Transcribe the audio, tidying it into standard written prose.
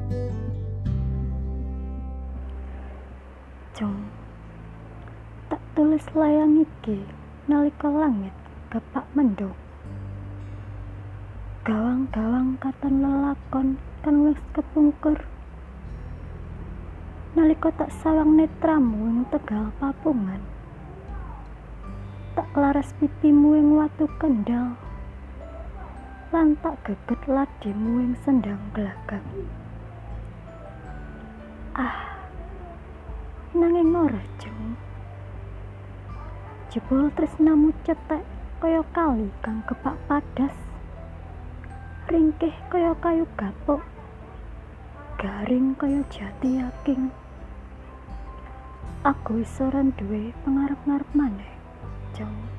Jong, tak tulis layang iki nalika langit gepak mendung. Gawang-gawang katon lelakon kang wis kepungkur. Nalika tak sawang netramu ing tegal papungan. Tak laras pipimu ing watu kendal. Lan tak geget ladimu ing sendang glagap. Nanging ora Jong. Jebul tresnamu cetek kaya kali kang gepak padas. Ringkih kaya kayu gapuk. Garing kaya jati yaking. Aku wis ora duwe pangarep-arep maneh, Jong.